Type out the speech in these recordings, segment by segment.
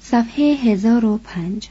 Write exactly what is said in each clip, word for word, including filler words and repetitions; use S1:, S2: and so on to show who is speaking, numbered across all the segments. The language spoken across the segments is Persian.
S1: صفحه هزار و پنج.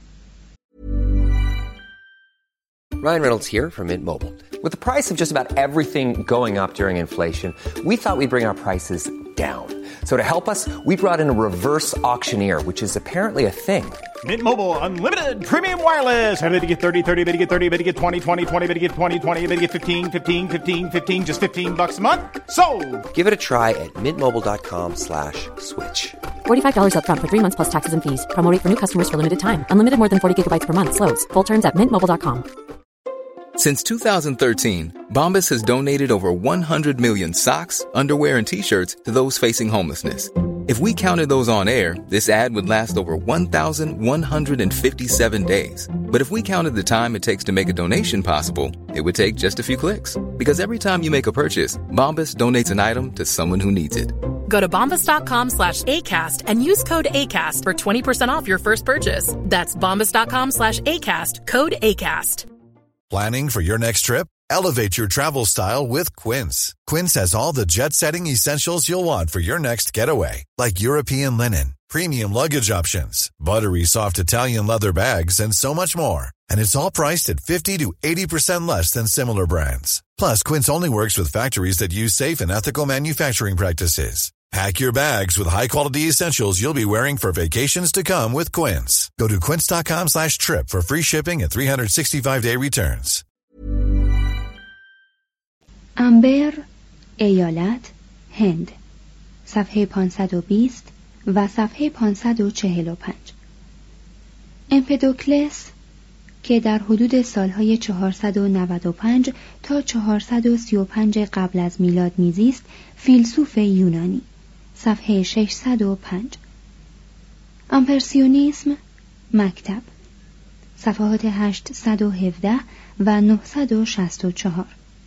S2: Ryan Reynolds here from Mint Mobile. With the price of just about everything going up during inflation, we thought we'd bring our prices down. So to help us, we brought in a reverse auctioneer, which is apparently a thing.
S3: Mint Mobile Unlimited Premium Wireless. How to get thirty, thirty, how to get thirty, how to get twenty, twenty, twenty, how to get twenty, twenty, how to get fifteen, fifteen, fifteen, fifteen, just fifteen bucks a month? Sold!
S2: Give it a try at mintmobile.com slash switch.
S4: forty-five dollars up front for three months plus taxes and fees. Promo rate for new customers for limited time. Unlimited more than forty gigabytes per month. Slows full terms at mint mobile dot com.
S5: Since two thousand thirteen, Bombas has donated over one hundred million socks, underwear, and T-shirts to those facing homelessness. If we counted those on air, this ad would last over one thousand one hundred fifty-seven days. But if we counted the time it takes to make a donation possible, it would take just a few clicks. Because every time you make a purchase, Bombas donates an item to someone who needs it.
S6: Go to bombas.com slash ACAST and use code ACAST for twenty percent off your first purchase. That's bombas.com slash ACAST, code ACAST.
S7: Planning for your next trip? Elevate your travel style with Quince. Quince has all the jet-setting essentials you'll want for your next getaway, like European linen, premium luggage options, buttery soft Italian leather bags, and so much more. And it's all priced at fifty to eighty percent less than similar brands. Plus, Quince only works with factories that use safe and ethical manufacturing practices. Pack your bags with high-quality essentials you'll be wearing for vacations to come with Quince. Go to quince.com slash trip for free shipping and three sixty-five day returns.
S1: امبر، ایالت، هند. صفحه پانصد و بیست و صفحه پانصد و چهل و پنج. امپدوکلس که در حدود سالهای چهارصد و نود و پنج تا چهارصد و سی و پنج قبل از میلاد میزیست، فیلسوف یونانی. صفحه ششصد و پنج. امپرسیونیسم، مکتب. صفحات هشتصد و هفده و نهصد و شصت و چهار.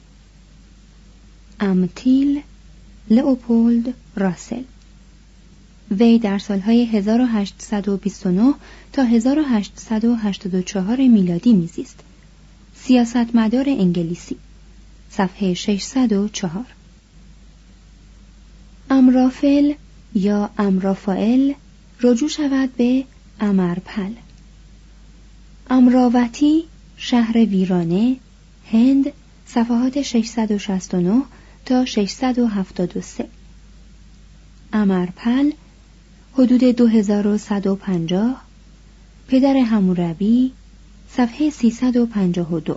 S1: امتیل، لئوپولد راسل. وی در سالهای هزار و هشتصد و بیست و نه تا هزار و هشتصد و هشتاد و چهار میلادی میزیست. سیاستمدار انگلیسی. صفحه ششصد و چهار. امرافل یا امرافائل رجوع شود به امرپل. امراوتی، شهر ویرانه، هند. صفحات ششصد و شصت و نه تا ششصد و هفتاد و سه. امرپل، حدود دو هزار و صد و پنجاه. پدر حموربی. صفحه سیصد و پنجاه و دو.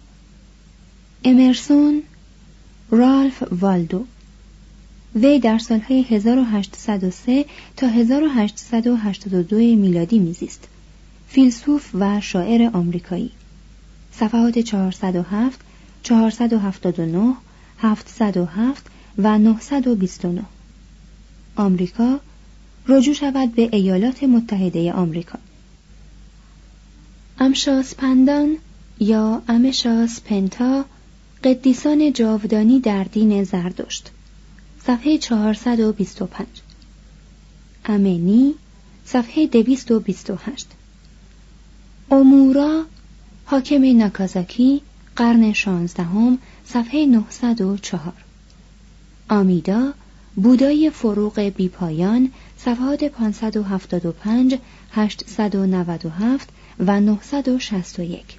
S1: امرسون، رالف والدو. وی در سالهای هزار و هشتصد و سه تا هزار و هشتصد و هشتاد و دو میلادی میزیست. فیلسوف و شاعر آمریکایی. صفحات چهارصد و هفت، چهارصد و هفتاد و نه، هفتصد و هفت و نهصد و بیست و نه. آمریکا، رجوع شود به ایالات متحده آمریکا. امشاسپندان یا امشاسپنتا، قدیسان جاودانی در دین زردشت. صفحه چهارصد و بیست و پنج. امنی، صفحه دویست و بیست و هشت. اومورا، حاکم ناکازاکی، قرن شانزدهم، صفحه نهصد و چهار. آمیدا، بودای فروغ بیپایان، صفحات پانصد و هفتاد و پنج، هشتصد و نود و هفت و نهصد و شصت و یک.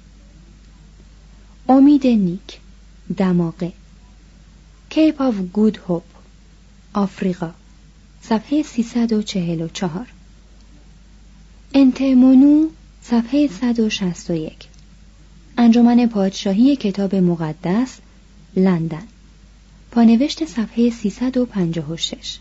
S1: امید نیک، دماغه. کیپ آف گود هوپ، آفریقا. صفحه سیصد و چهل و چهار. انتمونو، صفحه صد و شصت و یک. انجمن پادشاهی کتاب مقدس، لندن. پانوشت صفحه سیصد و پنجاه و شش.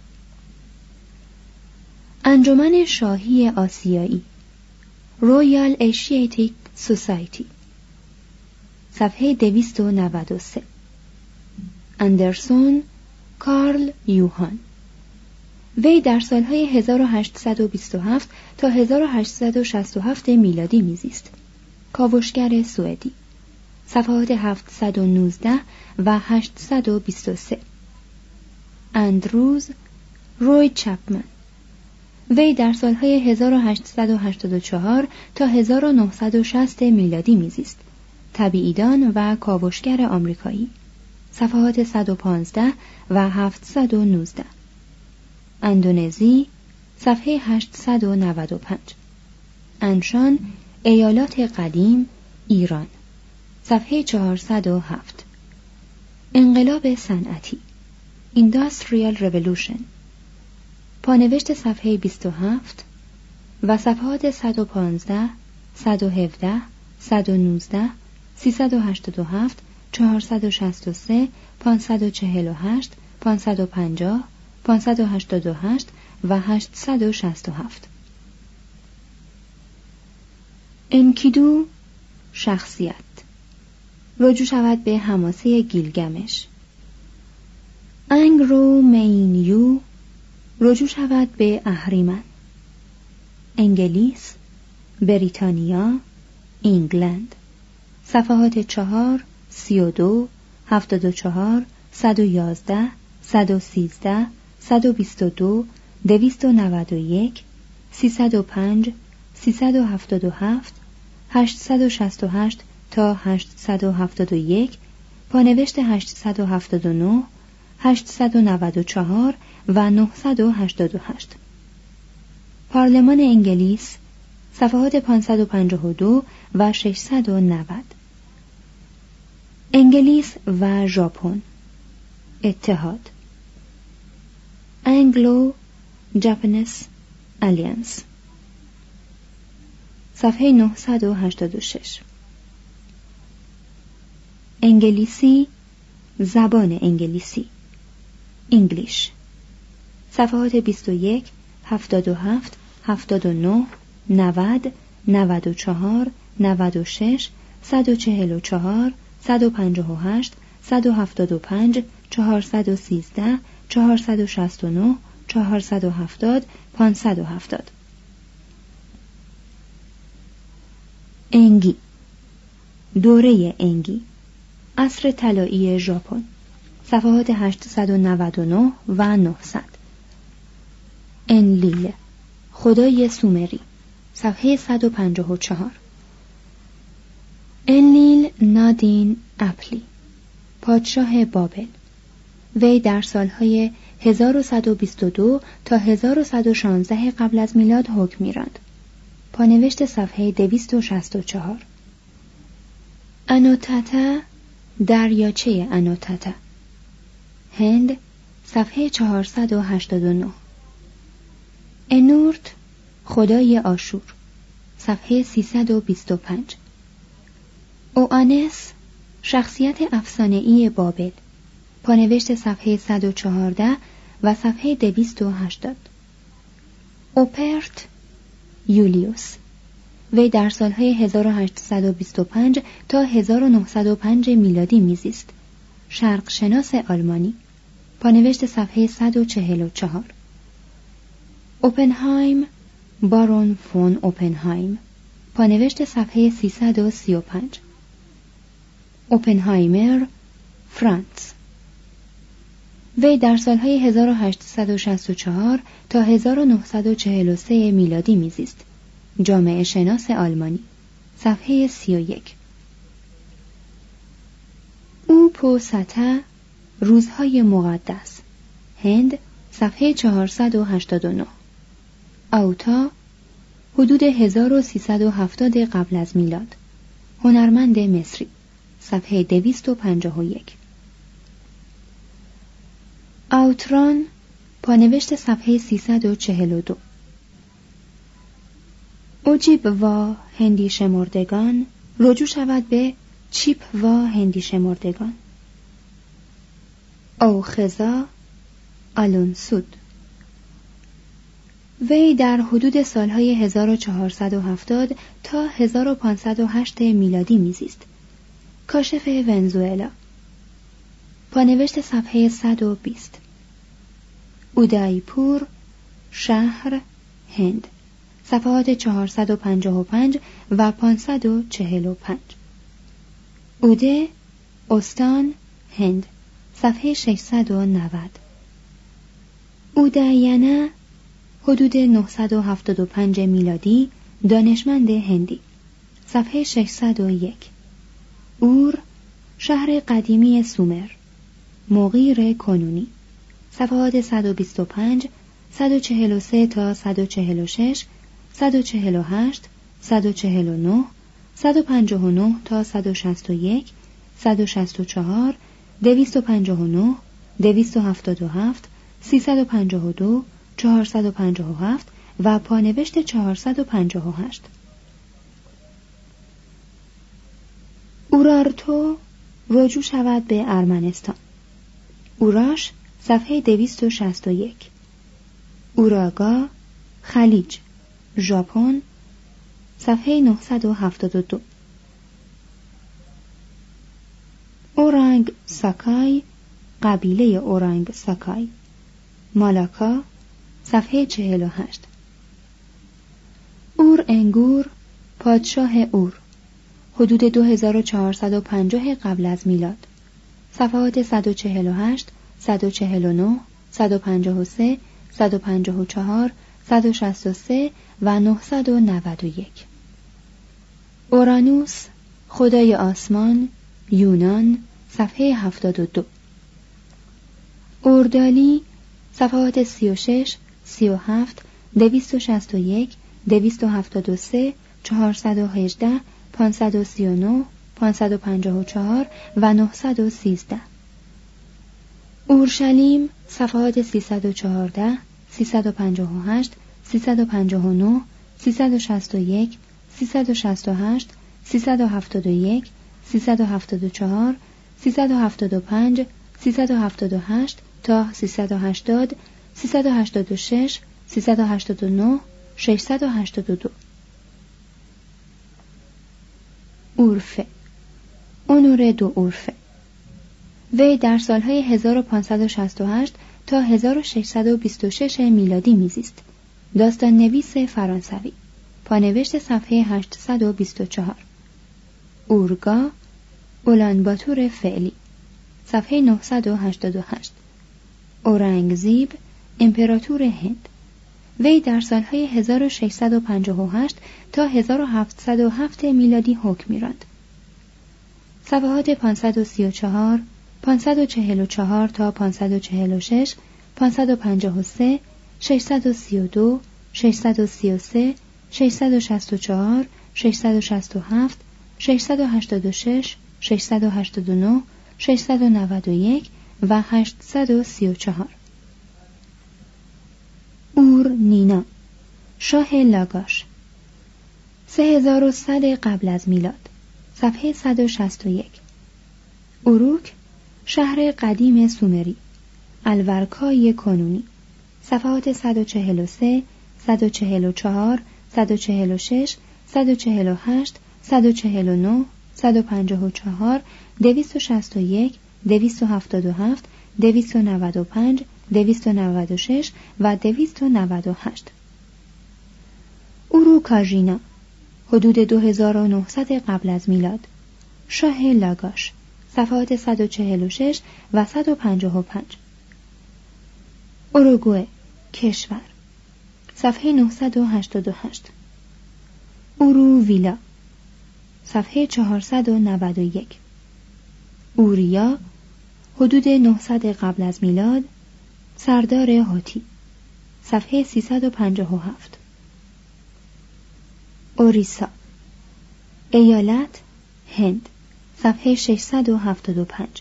S1: انجمن شاهی آسیایی، رویال ایشیاتیک سوسایتی. صفحه دویست و نود و سه. اندرسون، کارل یوهان. وی در سالهای هزار و هشتصد و بیست و هفت تا هزار و هشتصد و شصت و هفت میلادی میزیست. کاوشگر سوئدی. صفحات هفتصد و نوزده و هشتصد و بیست و سه. اندروز، روی چپمن. وی در سالهای هزار و هشتصد و هشتاد و چهار تا هزار و نهصد و شصت میلادی میزیست. طبیعیدان و کاوشگر آمریکایی. صفحات صد و پانزده و هفتصد و نوزده. اندونزی، صفحه هشتصد و نود و پنج. انشان، ایالات قدیم، ایران، صفحه چهارصد و هفت. انقلاب صنعتی، Industrial Revolution، پانوشت صفحه بیست و هفت و صفحات صد و پانزده، صد و هفده، صد و نوزده، سیصد و هشتاد و هفت، چهارصد و شصت و سه، پانصد و چهل و هشت، پانصد و پنجاه، پانصد و هشتاد و هشت و هشتصد و شصت و هفت. انکیدو، شخصیت، رجوع شود به حماسه گیلگمش. انگرو مینیو، رجوع شود به اهریمن. انگلیس، بریتانیا، انگلند، صفحات چهار، سی و دو، هفتاد و چهار، صد و یازده، صد و سیزده، صد و بیست و دو، دویست و نود و یک، سیصد و پنج، سیصد و هفتاد و هفت، هشتصد و شصت و هشت تا هشتصد و هفتاد و یک، پانوشت هشتصد و هفتاد و نه، هشتصد و نود و چهار و نهصد و هشتاد و هشت. پارلمان انگلیس، صفحات پانصد و پنجاه و دو و ششصد و نود. انگلیس و ژاپن، اتحاد. انگلو ژاپنیز الیانس، صفحه نهصد و هشتاد و شش. انگلیسی، زبان انگلیسی، انگلیش، صفحات بیست و یک، هفتاد و هفت، هفتاد و نه، نود، نود و چهار، نود و شش، صد و چهل و چهار، صد و پنجاه و هشت، صد و هفتاد و پنج، چهارصد و سیزده، چهارصد و شصت و نه، چهارصد و هفتاد، پانصد و هفتاد. انگی، دوره انگی، عصر طلایی ژاپن، صفحات هشتصد و نود و نه و نهصد. انلیل، خدای سومری، صفحه صد و پنجاه و چهار. انلیل نادین اپلی، پادشاه بابل، وی در سالهای هزار و صد و بیست و دو تا هزار و صد و شانزده قبل از میلاد حکم می‌راند. پانوشت صفحه دویست و شصت و چهار. انوتاتا، دریاچه انوتاتا، هند، صفحه چهارصد و هشتاد و نه. انورت، خدای آشور، صفحه سیصد و بیست و پنج. اوآنس، شخصیت افسانه‌ای بابل، پانوشت صفحه صد و چهارده و صفحه دویست و هشتاد. اوپرت، یولیوس، وی در سالهای هزار و هشتصد و بیست و پنج تا هزار و نهصد و پنج میلادی میزیست. شرق شناس آلمانی، پانوشت صفحه صد و چهل و چهار. اوپنهایم، بارون فون اوپنهایم، پانوشت صفحه سیصد و سی و پنج. اوپنهایمر، فرانس، وی در سالهای هزار و هشتصد و شصت و چهار تا هزار و نهصد و چهل و سه میلادی میزیست. جامعه شناس آلمانی، صفحه سی و یک. او پوستا، روزهای مقدس، هند، صفحه چهارصد و هشتاد و نه. اوتا، حدود هزار و سیصد و هفتاد قبل از میلاد، هنرمند مصری، صفحه دویست و پنجاه و یک. اوتران، پانوشت صفحه سیصد و چهل و دو. اوجیب و هندی شمردگان، رجوع شود به چیپ و هندی شمردگان. اوخزا، آلونسود، وی در حدود سالهای هزار و چهارصد و هفتاد تا هزار و پانصد و هشت میلادی میزیست. کاشف ونزوئلا، پانوشت صفحه صد و بیست. اودایپور، شهر، هند، صفحات چهارصد و پنجاه و پنج و پانصد و چهل و پنج. اوده، استان، هند، صفحه ششصد و نود. اوداینا، حدود نهصد و هفتاد و پنج میلادی، دانشمند هندی، صفحه ششصد و یک. اور، شهر قدیمی سومر، مغیر کنونی، صفحات صد و بیست و پنج، صد و چهل و سه تا صد و چهل و شش، صد و چهل و هشت، صد و چهل و نه، صد و پنجاه و نه تا صد و شصت و یک، صد و شصت و چهار، دویست و پنجاه و نه، دویست و هفتاد و هفت، سیصد و پنجاه و دو، چهارصد و پنجاه و هفت و پانوشت چهارصد و پنجاه و هشت. اورارتو رجوع شود به ارمنستان. اوراش صفحه دویست و شصت و یک. اوراگا خلیج ژاپن صفحه نهصد و هفتاد و دو. اورانگ ساکای قبیله اورانگ ساکای مالاکا صفحه چهل و هشت. اور انگور پادشاه اور حدود دو هزار و چهارصد و پنجاه قبل از میلاد صفحات صد و چهل و هشت، صد و چهل و نه، صد و پنجاه و سه، صد و پنجاه و چهار، صد و شصت و سه و نهصد و نود و یک. اورانوس خدای آسمان یونان صفحه هفتاد و دو. اوردالی صفحات سی و شش، سی و هفت، دویست و شصت و یک، دویست و هفتاد و سه، چهارصد و هجده، پانصد و سی و نه، پانصد و پنجاه و چهار و نهصد و سیزده. اورشلیم صفحات سیصد و چهارده، سیصد و پنجاه و هشت، سیصد و پنجاه و نه، سیصد و شصت و یک، سیصد و شصت و هشت، سیصد و هفتاد و یک، سیصد و هفتاد و چهار، سیصد و هفتاد و پنج، سیصد و هفتاد و هشت تا سیصد و هشتاد، سیصد و هشتاد و شش، سیصد و هشتاد و نه، ششصد و هشتاد و دو. اورفه اونور دو اورفه وی در سالهای هزار و پانصد و شصت و هشت تا هزار و ششصد و بیست و شش میلادی میزیست. داستان نویس فرانسوی. پانوشت صفحه هشتصد و بیست و چهار. اورگا اولانباتور فعلی صفحه نهصد و هشتاد و هشت. اورنگزیب امپراتور هند. وی در سالهای هزار و ششصد و پنجاه و هشت تا هزار و هفتصد و هفت میلادی حکم می‌راند. صفحات پانصد و سی و چهار، پانصد و چهل و چهار تا پانصد و چهل و شش، پانصد و پنجاه و سه، ششصد و سی و دو، ششصد و سی و سه، ششصد و شصت و چهار، ششصد و شصت و هفت، ششصد و هشتاد و شش، ششصد و هشتاد و نه، ششصد و نود و یک و هشتصد و سی و چهار. اور نینا شاه لاگاش سه هزار و صد قبل از میلاد صفحه صد و شصت و یک. اروک شهر قدیم سومری الورکای کنونی صفحات صد و چهل و سه، صد و چهل و چهار، صد و چهل و شش، صد و چهل و هشت، صد و چهل و نه، صد و پنجاه و چهار، دویست و شصت و یک، دویست و هفتاد و هفت، دویست و نود و پنج، دویست و نود و شش و دویست و نود و هشت. اوروکاژینا حدود دو هزار و نهصد قبل از میلاد شاه لاگاش صفحات صد و چهل و شش و صد و پنجاه و پنج. اوروگوئه کشور صفحه نهصد و هشتاد و هشت. اوروویلا صفحه چهارصد و نود و یک. اوریا حدود نهصد قبل از میلاد سردار هاتی صفحه سیصد و پنجاه و هفت. اوریسا ایالت هند صفحه ششصد و هفتاد و پنج.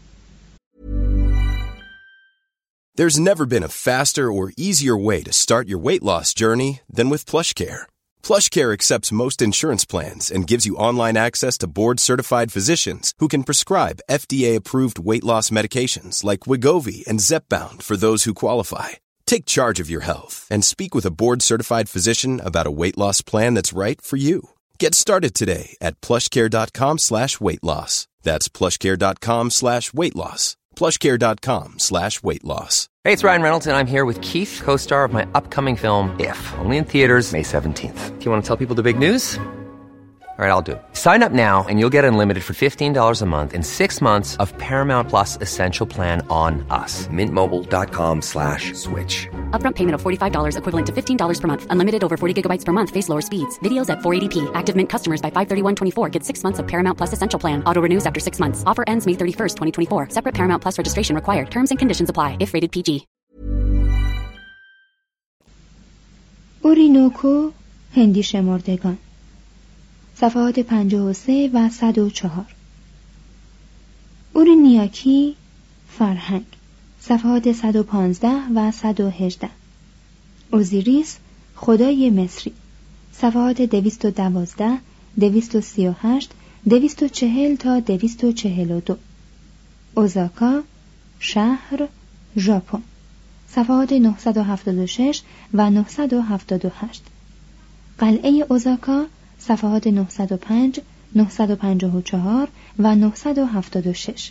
S8: There's never been a faster or easier way to start your weight loss journey than with PlushCare. PlushCare accepts most insurance plans and gives you online access to board-certified physicians who can prescribe F D A-approved weight loss medications like Wegovy and Zepbound for those who qualify. Take charge of your health and speak with a board-certified physician about a weight loss plan that's right for you. Get started today at plushcare.com slash weight loss. That's plushcare.com slash weight loss. plushcare.com slash weight loss.
S2: Hey, it's Ryan Reynolds, and I'm here with Keith, co-star of my upcoming film, If, only in theaters May seventeenth. Do you want to tell people the big news? All right, I'll do it. Sign up now and you'll get unlimited for fifteen dollars a month and six months of Paramount Plus Essential Plan on us. Mintmobile.com slash switch.
S4: Upfront payment of forty-five dollars equivalent to fifteen dollars per month. Unlimited over forty gigabytes per month. Face lower speeds. Videos at four eighty p. Active Mint customers by five thirty-one twenty-four get six months of Paramount Plus Essential Plan. Auto renews after six months. Offer ends May thirty-first, twenty twenty-four. Separate Paramount Plus registration required. Terms and conditions apply if rated P G.
S1: اورینوکو، هندی شمردگان، صفحات پنجاه و سه و صد و چهار. اورینیاکی، فرهنگ، صفحات صد و پانزده و صد و هجده. اوزیریس، خدای مصری، صفحات دویست و دوازده، دویست و سی و هشت، دویست و چهل تا دویست و چهل و دو. اوزاکا، شهر، ژاپن، صفحات نهصد و هفتاد و شش و نهصد و هفتاد و هشت. قلعه اوزاکا، صفحات نهصد و پنج، نهصد و پنجاه و چهار و نهصد و هفتاد و شش.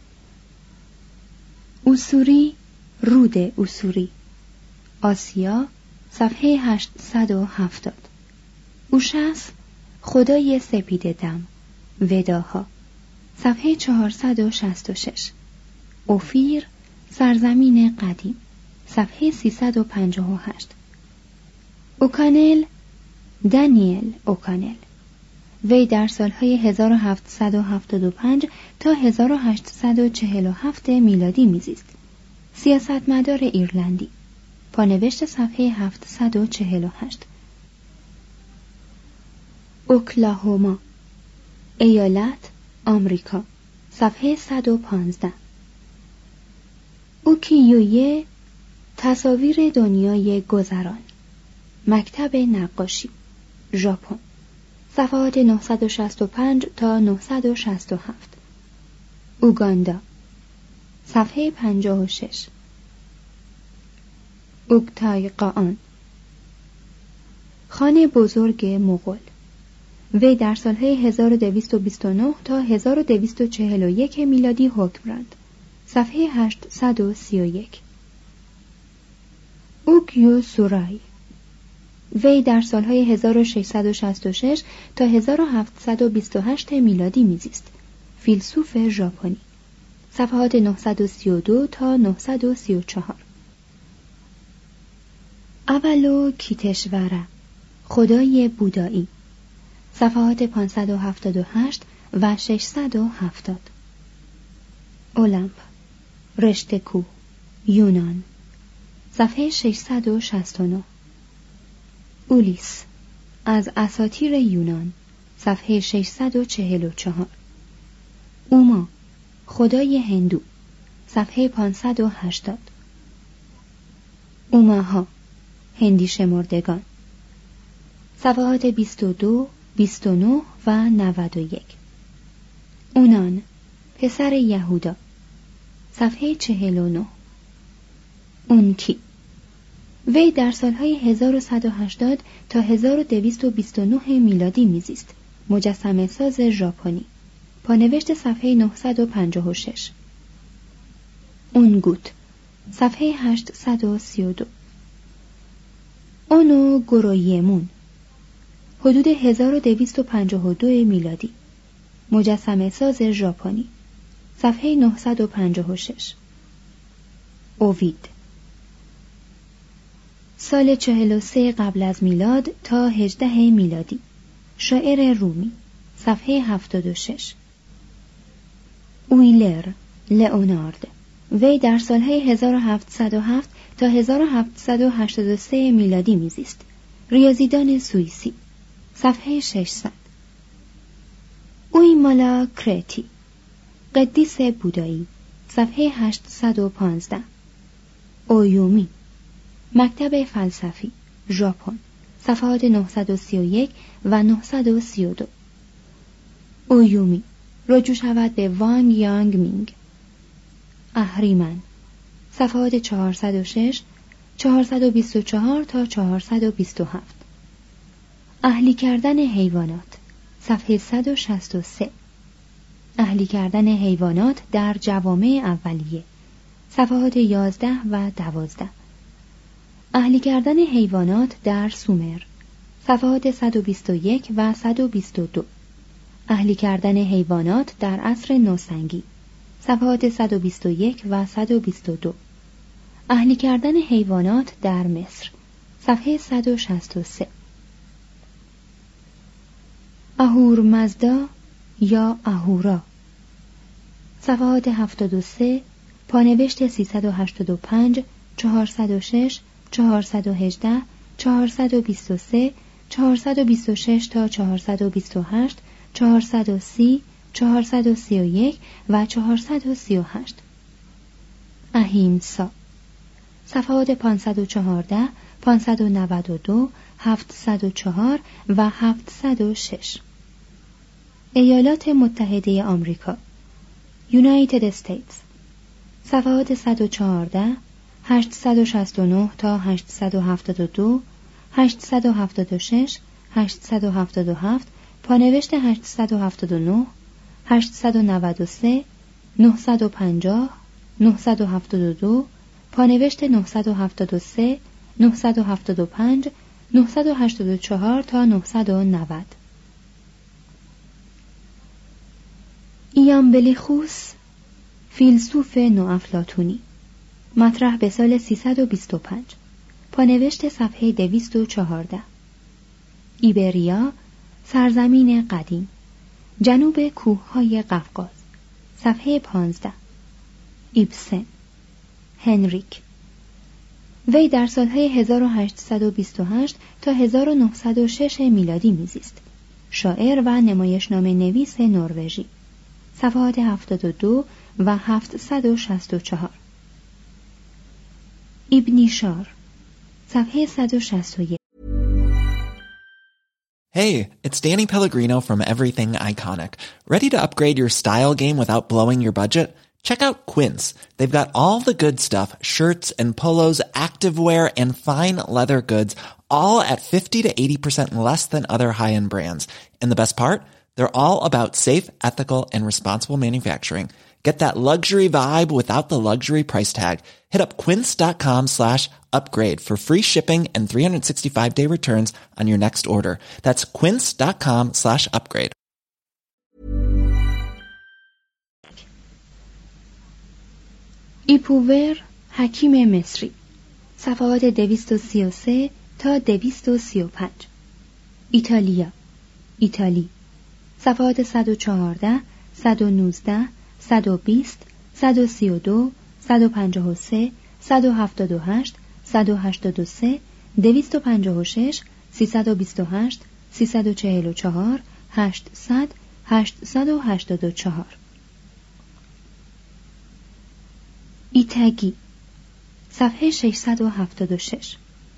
S1: اوسوری، رود اوسوری، آسیا، صفحه هشتصد و هفتاد. اوشس، خدای سپید دم، وداها، صفحه چهارصد و شصت و شش. اوفیر، سرزمین قدیم، صفحه سیصد و پنجاه و هشت. اوکانل، دانیل اوکانل، وی در سالهای هزار و هفتصد و هفتاد و پنج تا هزار و هشتصد و چهل و هفت میلادی میزیست. سیاستمدار ایرلندی. پانوشت صفحه هفتصد و چهل و هشت. اوکلاهوما، ایالت، آمریکا، صفحه صد و پانزده. اوکیویه، تصاویر دنیای گذران، مکتب نقاشی، ژاپن، صفحات نهصد و شصت و پنج تا نهصد و شصت و هفت. اوگاندا، صفحه پنجاه و شش. اوکتایقان، خان بزرگ مغول، وی در سالهای هزار و دویست و بیست و نه تا هزار و دویست و چهل و یک میلادی حکم راند. صفحه هشتصد و سی و یک. اوگیو سورای، وی در سالهای هزار و ششصد و شصت و شش تا هزار و هفتصد و بیست و هشت میلادی میزیست. فیلسوف ژاپنی. صفحات نهصد و سی و دو تا نهصد و سی و چهار. اولو کیتشورا، خدای بودایی، صفحات پانصد و هفتاد و هشت و ششصد و هفتاد. اولمپ، رشته کوه، یونان، صفحه ششصد و شصت و نه. اولیس، از اساطیر یونان، صفحه ششصد و چهل و چهار. اوما، خدای هندو، صفحه پانصد و هشتاد. اوماها، هندی شمردگان، صفحات بیست و دو، بیست و نه و نود و یک. اونان، پسر یهودا، صفحه چهل و نه. اونکی، وی در سالهای هزار و صد و هشتاد تا هزار و دویست و بیست و نه میلادی میزیست. مجسمه ساز ژاپنی. پانوشت صفحه نهصد و پنجاه و شش. اونگوت، صفحه هشتصد و سی و دو. اونو گورویمون، حدود هزار و دویست و پنجاه و دو میلادی. مجسمه ساز ژاپنی. صفحه نهصد و پنجاه و شش. اووید، سال چهل و سه قبل از میلاد تا هجده میلادی. شاعر رومی. صفحه هفتاد و شش. اویلر، لئونارد، وی در سالهای هزار و هفتصد و هفت تا هزار و هفتصد و هشتاد و سه میلادی میزیست. ریاضیدان سوئیسی. صفحه ششصد. اویمالا کرتی، قدیس بودایی، صفحه هشتصد و پانزده. اویومی، مکتب فلسفی، ژاپن، صفحات نهصد و سی و یک و نهصد و سی و دو. اویومی، رجوع شود به وانگ یانگ مینگ. اهریمن، صفحات چهارصد و شش، چهارصد و بیست و چهار تا چهارصد و بیست و هفت. اهلی کردن حیوانات، صفحه صد و شصت و سه. اهلی کردن حیوانات در جوامع اولیه، صفحات یازده و دوازده. اهلی کردن حیوانات در سومر، صفحات صد و بیست و یک و صد و بیست و دو. اهلی کردن حیوانات در عصر نوسنگی، صفحات صد و بیست و یک و صد و بیست و دو. اهلی کردن حیوانات در مصر، صفحه صد و شصت و سه. اهورمزدا یا اهورا، صفحات هفتاد و سه، پانوشت سیصد و هشتاد و پنج، چهارصد و شش، چهارصد و هجده، چهارصد و بیست و سه، چهارصد و بیست و شش تا چهارصد و بیست و هشت، چهارصد و سی، چهارصد و سی و یک و چهارصد و سی و هشت. اهیمسا. صفحات پانصد و چهارده، پانصد و نود و دو، هفتصد و چهار و هفتصد و شش. ایالات متحده آمریکا، United States. صفحات صد و چهارده، هشتصد و شصت و نه تا هشتصد و هفتاد و دو، هشتصد و هفتاد و شش، هشتصد و هفتاد و هفت، پانوشت هشتصد و هفتاد و نه، هشتصد و نود و سه، نهصد و پنجاه، نهصد و هفتاد و دو، پانوشت نهصد و هفتاد و سه، نهصد و هفتاد و پنج، نهصد و هشتاد و چهار تا نهصد و نود. ایامبلیخوس، فیلسوف نوافلاطونی، مطرح به سال سیصد و بیست و پنج، پانوشت صفحه دویست و چهارده. ایبریا، سرزمین قدیم، جنوب کوههای قفقاز، صفحه پانزده. ایبسن، هنریک. وی در سالهای هزار و هشتصد و بیست و هشت تا هزار و نهصد و شش میلادی میزیست. شاعر و نمایشنامه نویس نروژی. صفحات هفتاد و دو و هفتصد و شصت و چهار. ابنیشار، صفحه صد و شصت و یک.
S9: Hey, it's Danny Pellegrino from Everything Iconic. Ready to upgrade your style game without blowing your budget? Check out Quince. They've got all the good stuff, shirts and polos, activewear, and fine leather goods, all at fifty to eighty percent less than other high-end brands. And the best part? They're all about safe, ethical, and responsible manufacturing. Get that luxury vibe without the luxury price tag. Hit up quince.com slash upgrade for free shipping and three sixty-five day returns on your next order. That's quince.com slash upgrade.
S1: ایپوور، حکیم مصری، صفحات دویست و سی و سه تا دویست و سی و پنج. ایتالیا، ایتالی، صفحات صد و چهارده، صد و نوزده، صد و بیست، صد و سی و دو، صد و پنجاه و سه، صد و هفتاد و هشت، صد و هشتاد و سه، دویست و پنجاه و شش، سیصد و بیست و هشت، سیصد و چهل و چهار، هشتصد، هشتصد و هشتاد و چهار. ایتاگی، صفحه ششصد و هفتاد و شش.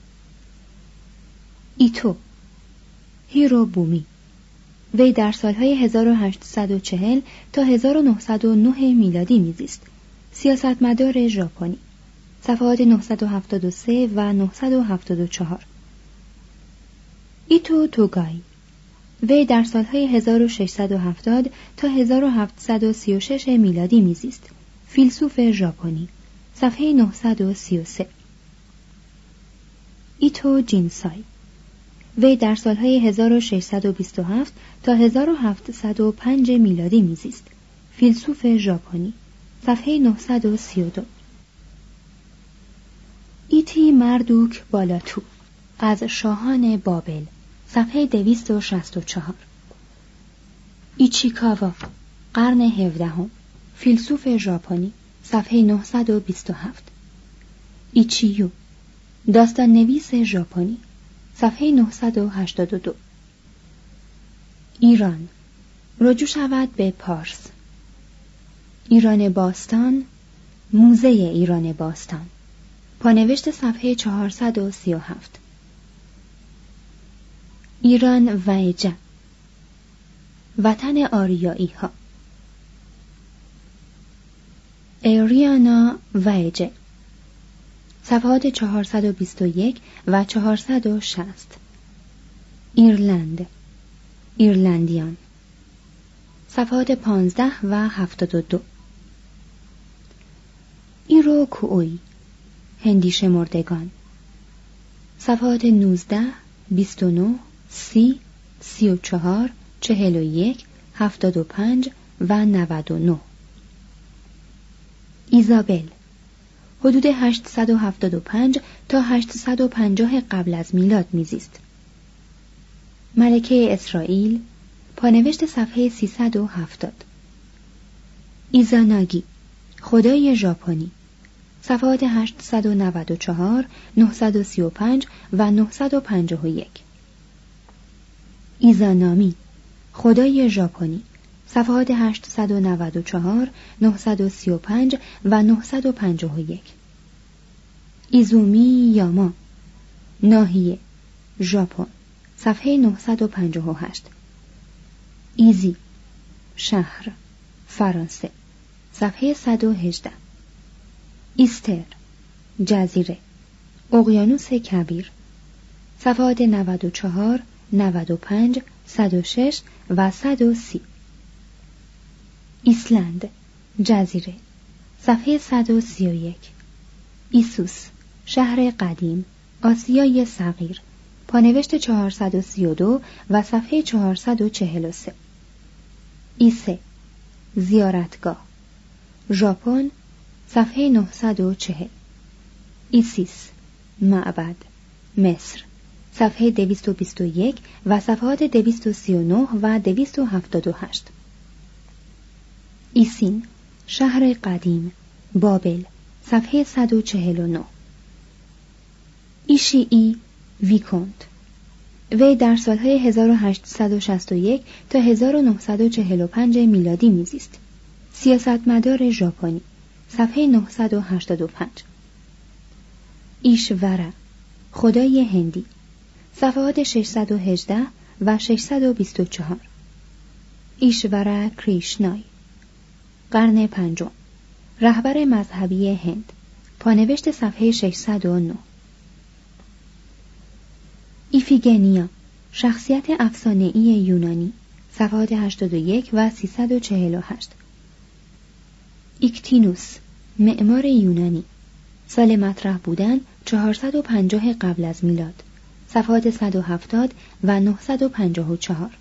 S1: ایتو، هیرو بومی، وی در سالهای هزار و هشتصد و چهل تا هزار و نهصد و نه میلادی میزیست. سیاستمدار ژاپنی، صفحات نهصد و هفتاد و سه و نهصد و هفتاد و چهار. ایتو توگای، وی در سالهای هزار و ششصد و هفتاد تا هزار و هفتصد و سی و شش میلادی میزیست. فیلسوف ژاپنی، صفحه نهصد و سی و سه. ایتو جینسای، وی در سالهای هزار و ششصد و بیست و هفت تا هزار و هفتصد و پنج میلادی میزیست. فیلسوف ژاپنی، صفحه نهصد و سی و دو. ایتی مردوک بالاتو، از شاهان بابل، صفحه دویست و شصت و چهار. ایچیکاوا، قرن هفدهم، فیلسوف ژاپنی، صفحه نهصد و بیست و هفت. ایچیو، داستان نویس ژاپنی، صفحه نهصد و هشتاد و دو. ایران، رجوع شود به پارس. ایران باستان، موزه ایران باستان، پانوشت صفحه چهارصد و سی و هفت. ایران ویجه، وطن آریایی ها. ایریانا ویجه، صفحات چهارصد و بیست و یک و چهارصد و شصت. ایرلند، ایرلندیان، صفحات پانزده و هفتاد و دو. ایرو کوئی، هندی شمردگان، صفحات نوزده، بیست و نه، سی، سی و چهار، چهل و یک، هفتاد و پنج و نود و نه. ایزابل، حدود هشتصد و هفتاد و پنج تا هشتصد و پنجاه قبل از میلاد میزیست. ملکه اسرائیل، پانوشت صفحه سیصد و هفتاد. ایزاناگی، خدای ژاپنی، صفحات هشتصد و نود و چهار، نهصد و سی و پنج و نهصد و پنجاه و یک. ایزانامی، خدای ژاپنی، صفحات هشتصد و نود و چهار، نهصد و سی و پنج و نهصد و پنجاه و یک. ایزومی یاما، ناحیه ژاپن، صفحه نهصد و پنجاه و هشت. ایزی، شهر فرانسه، صفحه صد و هجده. ایستر، جزیره اقیانوس کبیر، صفحات نود و چهار، نود و پنج، صد و شش و صد و سی. ایسلند، جزیره، صفحه صد و سی و یک. ایسوس، شهر قدیم آسیای صغیر، پانوشت چهارصد و سی و دو و صفحه چهارصد و چهل و سه. ایسه، زیارتگاه ژاپن، صفحه نهصد و چهل. ایسیس، معبد مصر، صفحه دویست و بیست و یک و صفحات دویست و سی و نه و دویست و هفتاد و هشت. ایسین، شهر قدیم بابل، صفحه صد و چهل و نه. ایشیئی ویکونت، وی در سالهای هزار و هشتصد و شصت و یک تا هزار و نهصد و چهل و پنج میلادی میزیست. سیاستمدار ژاپنی، صفحه نهصد و هشتاد و پنج. ایشورا، خدای هندی، صفحات ششصد و هجده و ششصد و بیست و چهار. ایشورا کریشنای، قرن پنجم، رهبر مذهبی هند، پانوشت صفحه ششصد و نه. ایفیگنیا، شخصیت افسانه‌ای یونانی، صفحات هشتاد و یک و سیصد و چهل و هشت. ایکتینوس، معمار یونانی، سال مطرح بودن چهارصد و پنجاه قبل از میلاد، صفحات صد و هفتاد و نهصد و پنجاه و چهار.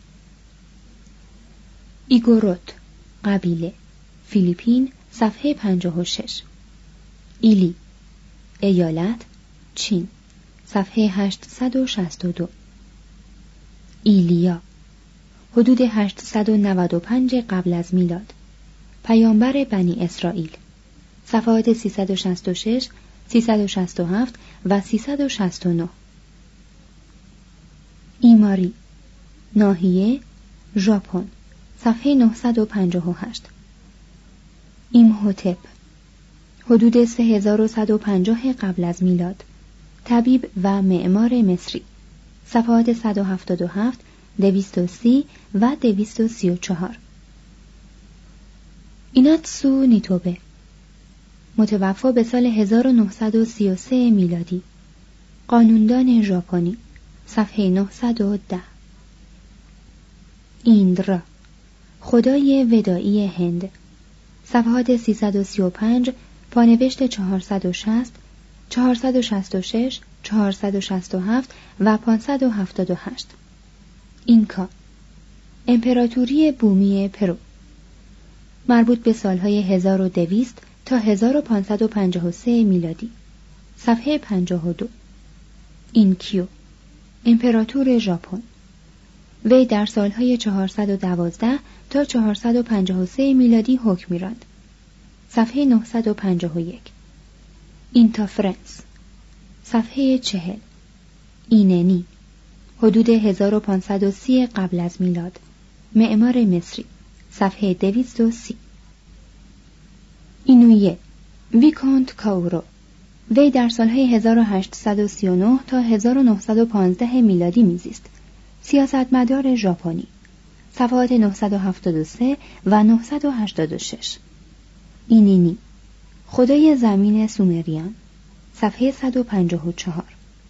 S1: ایگوروت، قبیله فیلیپین، صفحه پنجاه و شش. ایلی، ایالت چین، صفحه هشتصد و شصت و دو. ایلیا، حدود هشتصد و نود و پنج قبل از میلاد، پیامبر بنی اسرائیل، صفحات سیصد و شصت و شش، سیصد و شصت و هفت و سیصد و شصت و نه. ایماری، ناحیه ژاپن، صفحه نهصد و پنجاه و هشت. ایمهوتپ، حدود سه هزار و صد و پنجاه قبل از میلاد، طبیب و معمار مصری، صفحات صد و هفتاد و هفت، دویست و سی و دویست و سی و چهار. ایناتسو نیتوبه، متوفا به سال هزار و نهصد و سی و سه میلادی، قانوندان ژاپنی، صفحه نهصد و ده. ایندرا، خدای ودائی هند، صفحات سیصد و سی و پنج، پانوشت چهارصد و شصت، چهارصد و شصت و شش، چهارصد و شصت و هفت و پانصد و هفتاد و هشت. اینکا، امپراتوری بومی پرو، مربوط به سالهای هزار و دویست تا هزار و پانصد و پنجاه و سه میلادی، صفحه پنجاه و دو. اینکیو، امپراتور ژاپن، وی در سالهای چهارصد و دوازده تا چهارصد و پنجاه و سه میلادی حکم می‌راند، صفحه نهصد و پنجاه و یک. اینتافرنس، صفحه چهل. ایننی، حدود هزار و پانصد و سی قبل از میلاد، معمار مصری، صفحه دویست و سی. اینویه، ویکونت کاورو، وی در سالهای هزار و هشتصد و سی و نه تا هزار و نهصد و پانزده میلادی میزیست، سیاستمدار ژاپنی، صفحات نهصد و هفتاد و سه و نهصد و هشتاد و شش. اینینی، خدای زمین سومریان، صفحه صد و پنجاه و چهار.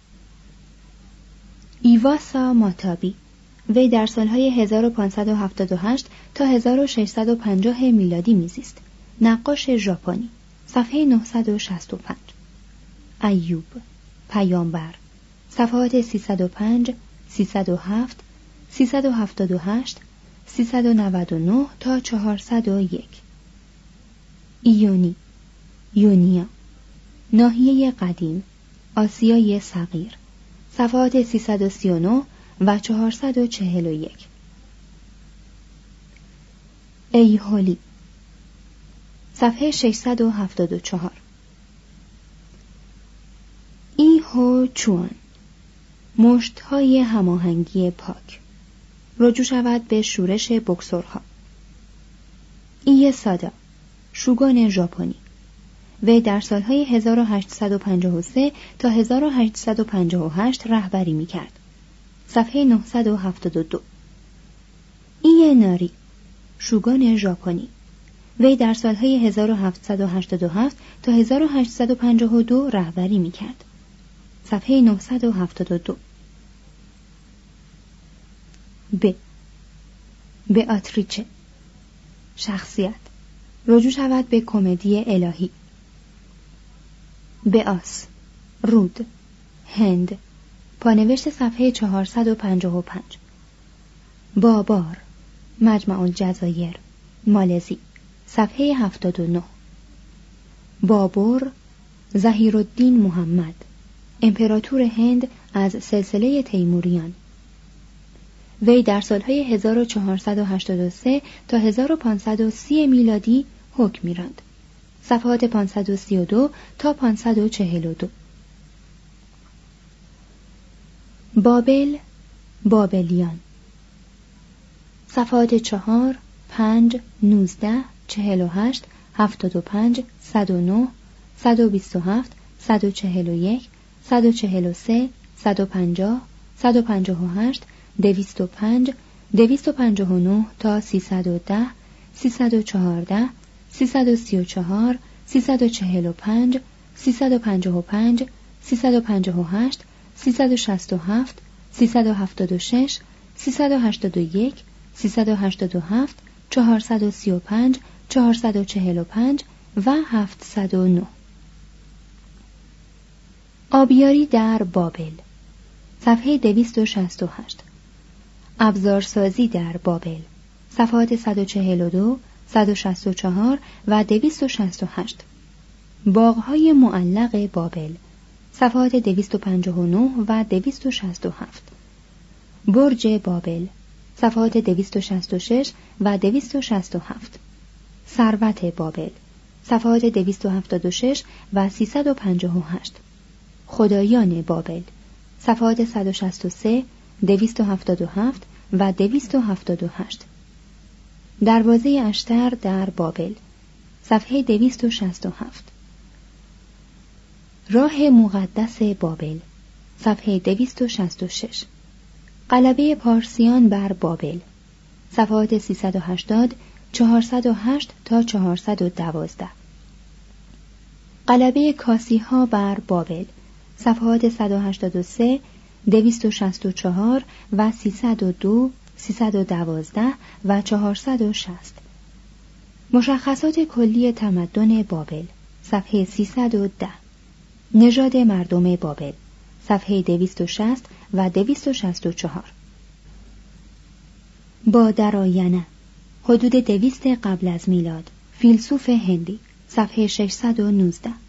S1: ایواسا ماتابی، وی در سالهای هزار و پانصد و هفتاد و هشت تا هزار و ششصد و پنجاه میلادی میزیست، نقاش ژاپنی، صفحه نهصد و شصت و پنج. ایوب، پیامبر، صفحات سیصد و پنج، سیصد و هفت، سیصد و هفتاد و هشت، سیصد و نود و نه تا چهارصد و یک. ایونی، یونیا، ناحیه قدیم آسیای صغیر، صفحات سیصد و سی و نه و چهارصد و چهل و یک. ایهولی، صفحه ششصد و هفتاد و چهار. هو چوان، مشت‌های هماهنگی پاک. رجوع شود به شورش بوکسورها. ای سادا، شوگان ژاپنی. وی در سالهای هزار و هشتصد و پنجاه و سه تا هزار و هشتصد و پنجاه و هشت رهبری می‌کرد. صفحه نهصد و هفتاد و دو. ای ناری، شوگان ژاپنی. وی در سالهای هزار و هفتصد و هشتاد و هفت تا هزار و هشتصد و پنجاه و دو رهبری می‌کرد. صفحه نهصد و هفتاد و دو. ب. بیاتریچه، شخصیت. رجوع شود به کمدی الهی. بیاس، رود، هند. پانوشت صفحه چهارصد و پنجاه و پنج. بابار، مجمع الجزایر، مالزی. صفحه هفتاد و نه. بابور، ظهیرالدین محمد، امپراتور هند از سلسله تیموریان. وی در سالهای هزار و چهارصد و هشتاد و سه تا هزار و پانصد و سی میلادی حکم می‌راند. صفحات پانصد و سی و دو تا پانصد و چهل و دو. بابل، بابلیان. صفحات چهار، پنج، نوزده، چهل و هشت، هفتاد و پنج، صد و نه، صد و بیست و هفت، صد و چهل و یک، صد و چهل و سه، صد و پنجاه، صد و پنجاه و هشت، دویست و پنج، دویست و پنجاه و نه تا سیصد و ده، سیصد و چهارده، سیصد و سی و چهار، سیصد و چهل و پنج، سیصد و پنجاه و پنج، سیصد و پنجاه و هشت، سیصد و شصت و هفت، سیصد و هفتاد و شش، سیصد و هشتاد و یک، سیصد و هشتاد و هفت، چهارصد و سی و پنج، چهارصد و چهل و پنج و هفتصد و نه. آبیاری در بابل، صفحه دویست و شصت و هشت. ابزارسازی در بابل، صفحات صد و چهل و دو، صد و شصت و چهار و دویست و شصت و هشت. باغ‌های معلق بابل، صفحات دویست و پنجاه و نه و دویست و شصت و هفت. برج بابل، صفحات دویست و شصت و شش و دویست و شصت و هفت. ثروت بابل، صفحات دویست و هفتاد و شش و سیصد و پنجاه و هشت. خدایان بابل، صفحات صد و شصت و سه، دویست و هفتاد و هفت و دویست و هفتاد و هشت. دروازه اشتر در بابل، صفحه دویست و شصت و هفت. راه مقدس بابل، صفحه دویست و شصت و شش. غلبه پارسیان بر بابل، صفحات سیصد و هشتاد، چهارصد و هشت تا چهارصد و دوازده. غلبه کاسیها بر بابل، صفحات صد و هشتاد و سه، دویست و شصت و چهار و سیصد و دو، سیصد و دوازده و چهارصد و شصت. مشخصات کلی تمدن بابل، صفحه سیصد و ده. نژاد مردم بابل، صفحه دویست و شصت و دویست و شصت و چهار. با درآینه، حدود دویست قبل از میلاد، فیلسوف هندی، صفحه ششصد و نوزده.